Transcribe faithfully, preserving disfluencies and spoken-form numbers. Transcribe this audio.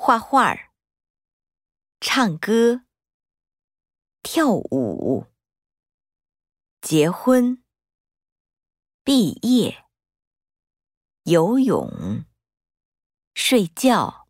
画画儿、唱歌、跳舞、结婚、毕业、游泳、睡觉。